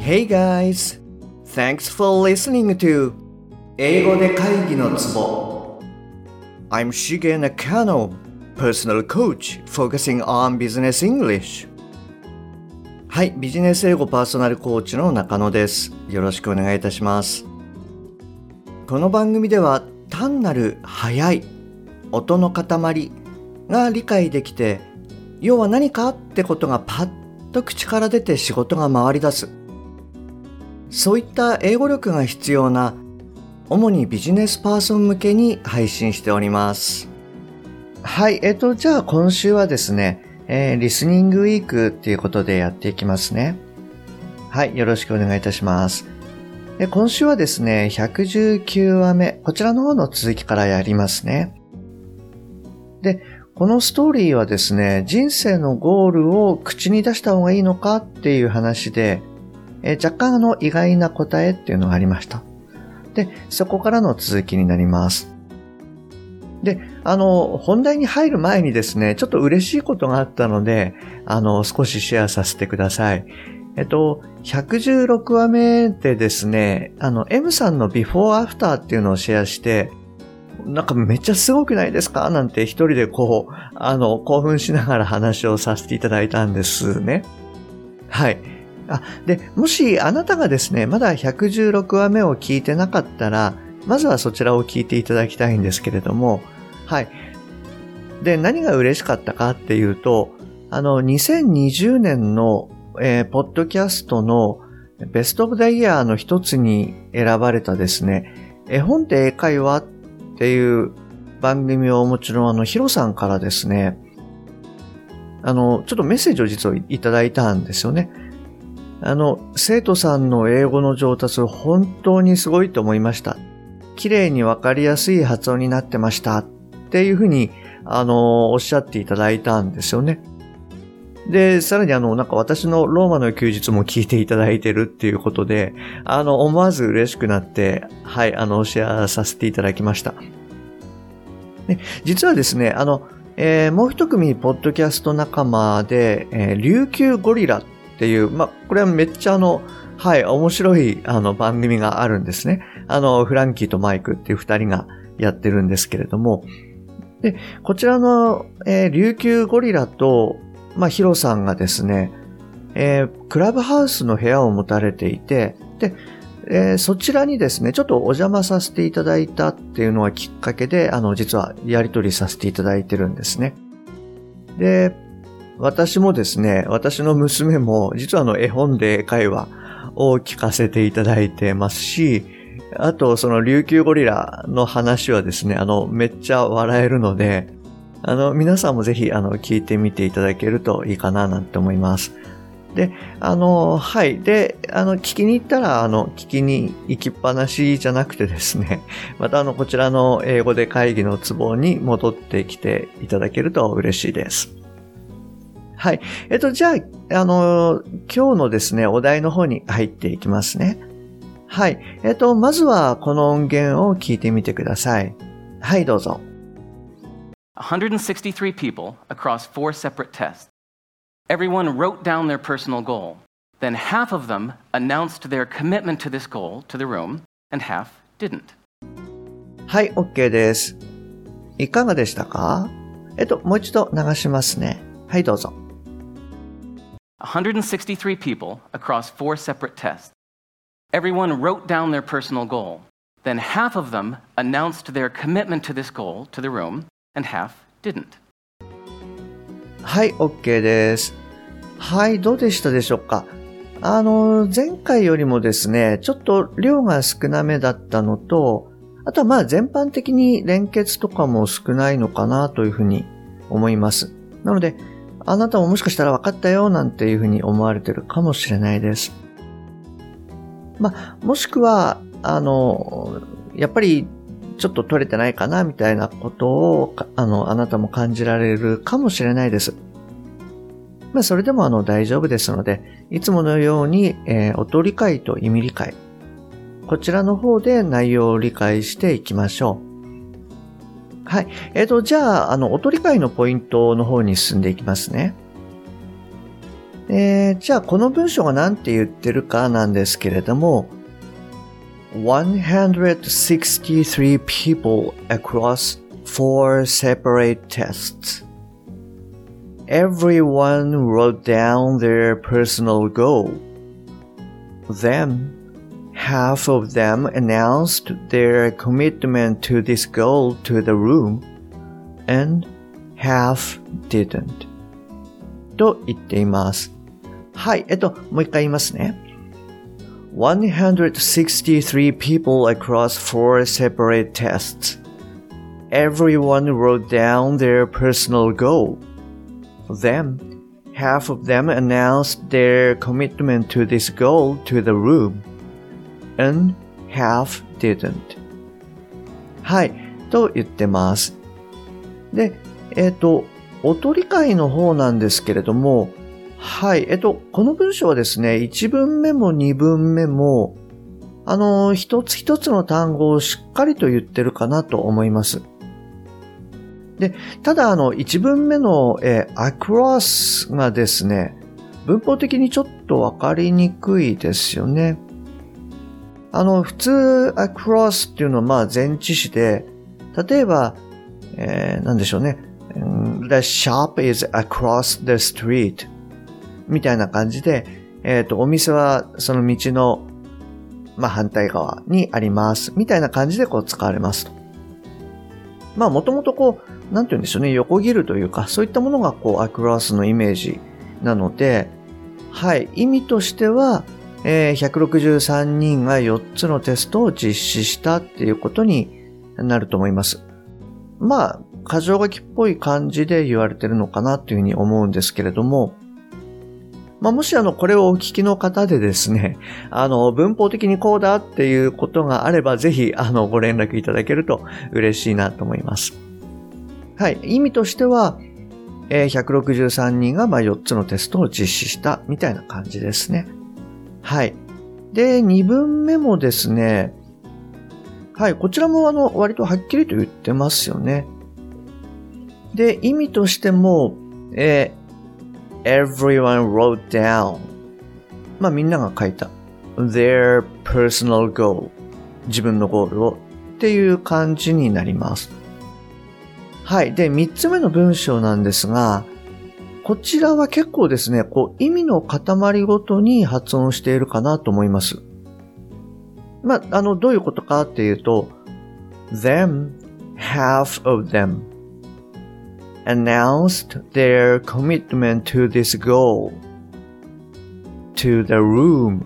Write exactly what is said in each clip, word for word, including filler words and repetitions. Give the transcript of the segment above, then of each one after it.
Hey guys! Thanks for listening to 英語で会議のツボ I'm Shige Nakano, personal coach focusing on business English. はい、ビジネス英語パーソナルコーチの中野です。よろしくお願いいたします。この番組では単なる速い音の塊が理解できて、要は何かってことがパッと口から出て仕事が回り出す。そういった英語力が必要な主にビジネスパーソン向けに配信しております。はい、えっと、じゃあ今週はですね、えー、リスニングウィークっていうことでやっていきますね。はい、よろしくお願いいたします。で今週はですね、ひゃくじゅうきゅうわめ、こちらの方の続きからやりますね。で、このストーリーはですね、人生のゴールを口に出した方がいいのかっていう話で、えー、若干あの意外な答えっていうのがありました。で、そこからの続きになります。で、あの、本題に入る前にですね、ちょっと嬉しいことがあったので、あの、少しシェアさせてください。えっと、ひゃくじゅうろくわめでですね、あの、M さんのビフォーアフターっていうのをシェアして、なんかめっちゃすごくないですかなんて一人でこう、あの、興奮しながら話をさせていただいたんですね。はい。あ、で、もしあなたがですね、まだひゃくじゅうろくわめを聞いてなかったら、まずはそちらを聞いていただきたいんですけれども、はい。で、何が嬉しかったかっていうと、あの、にせんにじゅうねんの、えー、ポッドキャストのベストオブザイヤーの一つに選ばれたですね、絵本で英会話っていう番組をもちろんあの、ヒロさんからですね、あの、ちょっとメッセージを実はいただいたんですよね。あの、生徒さんの英語の上達本当にすごいと思いました。綺麗にわかりやすい発音になってましたっていうふうに、あの、おっしゃっていただいたんですよね。で、さらにあの、なんか私のローマの休日も聞いていただいてるっていうことで、あの、思わず嬉しくなって、はい、あの、シェアさせていただきました。で、実はですね、あの、えー、もう一組ポッドキャスト仲間で、えー、琉球ゴリラっていう、まあ、これはめっちゃあの、はい、面白いあの番組があるんですね。あの、フランキーとマイクっていう二人がやってるんですけれども、で、こちらの、えー、琉球ゴリラと、まあ、ヒロさんがですね、えー、クラブハウスの部屋を持たれていて、で、えー、そちらにですね、ちょっとお邪魔させていただいたっていうのがきっかけで、あの、実はやり取りさせていただいてるんですね。で、私もですね、私の娘も実はあの絵本で英会話を聞かせていただいてますし、あとその琉球ゴリラの話はですね、あのめっちゃ笑えるので、あの皆さんもぜひあの聞いてみていただけるといいかななんて思います。で、あの、はい。で、あの、聞きに行ったら、あの、聞きに行きっぱなしじゃなくてですね、またあの、こちらの英語で会議のツボに戻ってきていただけると嬉しいです。はい。えっと、じゃあ、あの、今日のですね、お題の方に入っていきますね。はい。えっと、まずはこの音源を聞いてみてください。はい、どうぞ。 one hundred sixty-three people across four separate tests. Everyone wrote down their personal goal. Then half of them announced their commitment to this goal to the room, and half didn't. はい、OK です。いかがでしたか？えっと、もう一度流しますね。はい、どうぞ。 one hundred sixty-three people across four separate tests. Everyone wrote down their personal goal. Then half of them announced their commitment to this goal to the room, and half didn't. はい、OK です。はい、どうでしたでしょうか？あの、前回よりもですね、ちょっと量が少なめだったのと、あとはまあ全般的に連結とかも少ないのかなというふうに思います。なので、あなたももしかしたら分かったよなんていうふうに思われてるかもしれないです。まあ、もしくは、あの、やっぱりちょっと取れてないかなみたいなことを、あの、あなたも感じられるかもしれないです。まあ、それでもあの大丈夫ですので、いつものように、えー、音理解と意味理解、こちらの方で内容を理解していきましょう。はい。えっと、じゃあ、あの、音理解のポイントの方に進んでいきますね。 えー、じゃあこの文章が何て言ってるかなんですけれども、one hundred sixty-three people across four separate tests. Everyone wrote down their personal goal. Then, half of them announced their commitment to this goal to the room, and half didn't. と言っています。はい、えっと、もう一回言いますね。one hundred sixty-three people across four separate tests. Everyone wrote down their personal goal. Then, half of them announced their commitment to this goal to the room, and half didn't. はい、と言ってます。で、えっと、音理解の方なんですけれども、はい、えっと、この文章はですね、いち文目もに文目も、あの、一つ一つの単語をしっかりと言ってるかなと思います。で、ただあの、いち文目の、えー、across がですね、文法的にちょっとわかりにくいですよね。あの、普通 across っていうのはまあ前置詞で、例えば、えー、なんでしょうね。The shop is across the street みたいな感じで、えっと、お店はその道の、まあ、反対側にありますみたいな感じでこう使われますと。まあ、もともとこう、なんて言うんでしょうね、横切るというか、そういったものがこう、across のイメージなので、はい、意味としては、えー、ひゃくろくじゅうさんにんがよっつのテストを実施したっていうことになると思います。まあ、箇条書きっぽい感じで言われてるのかなというふうに思うんですけれども、まあ、もしあの、これをお聞きの方でですね、あの、文法的にこうだっていうことがあれば、ぜひ、あの、ご連絡いただけると嬉しいなと思います。はい。意味としては、えー、ひゃくろくじゅうさんにんがまあよっつのテストを実施したみたいな感じですね。はい。で、に文目もですね、はい。こちらもあの、割とはっきりと言ってますよね。で、意味としても、えー、everyone wrote down。まあみんなが書いた。their personal goal。自分のゴールをっていう感じになります。はい。で、三つ目の文章なんですが、こちらは結構ですね、こう意味の塊ごとに発音しているかなと思います。まあ、あの、どういうことかっていうと、them, half of them announced their commitment to this goal to the room,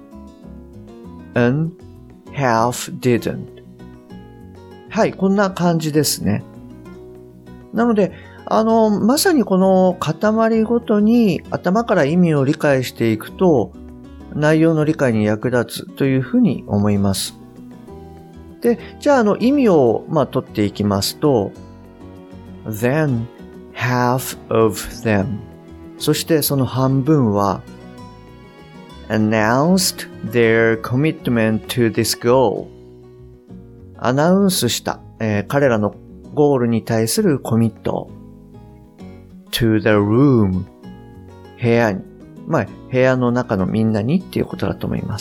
and half didn't. はい、こんな感じですね。なので、あの、まさにこの塊ごとに頭から意味を理解していくと、内容の理解に役立つというふうに思います。で、じゃあ、あの、意味を、まあ、取っていきますと、then, half of them。そしてその半分は、announced their commitment to this goal。アナウンスした、えー、彼らのゴールに対するコミット。to the room。部屋に。まあ、部屋の中のみんなにっていうことだと思います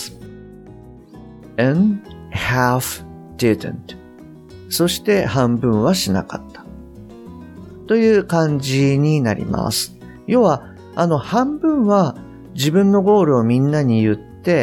。and half didn't。そして半分はしなかった。という感じになります。要は、あの半分は自分のゴールをみんなに言って、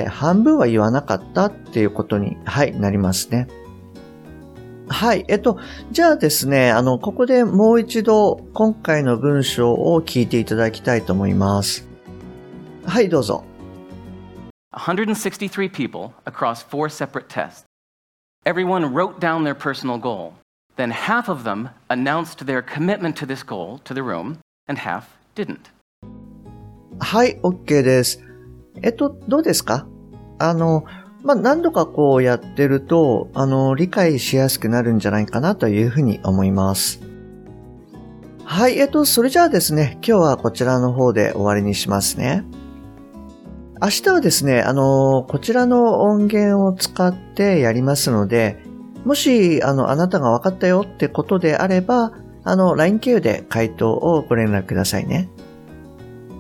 半分は言わなかったっていうことに、はい、なりますね。はい。えっと、じゃあですね、あの、ここでもう一度今回の文章を聞いていただきたいと思います。はい、どうぞ。 one hundred sixty-three people across four separate tests. Everyone wrote down their personal goal. Then half of them announced their commitment to this goal to the room, and half didn't. はい、OK です。えっと、どうですか？あの、まあ、何度かこうやってると、あの、理解しやすくなるんじゃないかなというふうに思います。はい、えっと、それじゃあですね、今日はこちらの方で終わりにしますね。明日はですね、あの、こちらの音源を使ってやりますので、もし、あの、あなたが分かったよってことであれば、あの、ライン 経由で回答をご連絡くださいね。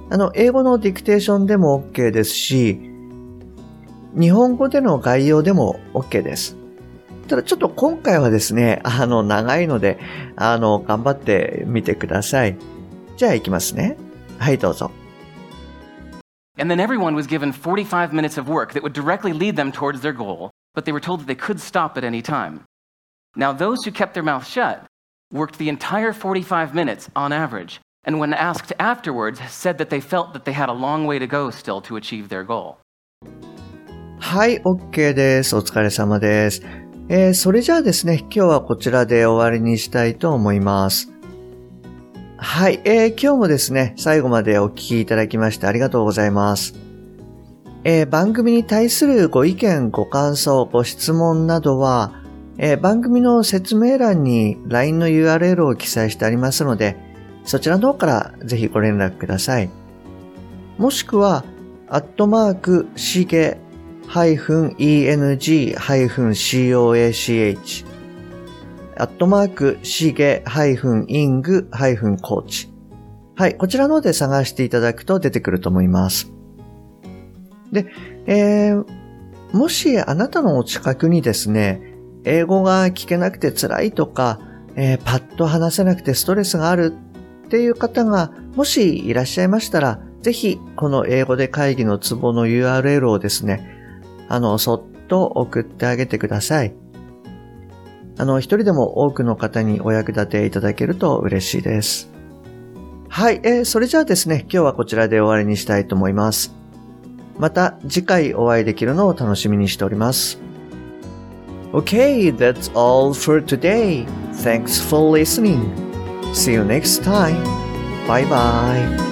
あの、英語のディクテーションでも OK ですし、日本語での概要でも OK です。ただちょっと今回はですね、あの、長いので、あの、頑張ってみてください。じゃあ行きますね。はい、どうぞ。 And then everyone was given forty-five minutes of work that would directly lead them towards their goal, but they were told that they could stop at any time. Now, those who kept their mouth shut worked the entire forty-five minutes on average, and when asked afterwards, said that they felt that they had a long way to go still to achieve their goal. はい、OK です。お疲れ様です。えー、それじゃあですね、今日はこちらで終わりにしたいと思います。はい、えー、今日もですね、最後までお聞きいただきましてありがとうございます。えー、番組に対するご意見、ご感想、ご質問などは、えー、番組の説明欄に ライン の ユーアールエル を記載してありますので、そちらの方からぜひご連絡ください。もしくは、アットマーク、しげ、ハイフン、イーエヌジー、ハイフン、シーオーエーシーエイチ、アットマーク、しげ、ハイフン、イング、ハイフン、コーチ。はい、こちらの方で探していただくと出てくると思います。で、えー、もしあなたのお近くにですね、英語が聞けなくて辛いとか、えー、パッと話せなくてストレスがあるっていう方がもしいらっしゃいましたら、ぜひこの英語で会議のツボの ユーアールエル をですね、あの、そっと送ってあげてください。あの、一人でも多くの方にお役立ていただけると嬉しいです。はい、えー、それじゃあですね、今日はこちらで終わりにしたいと思います。また次回お会いできるのを楽しみにしております。Okay, that's all for today. Thanks for listening. See you next time. Bye bye.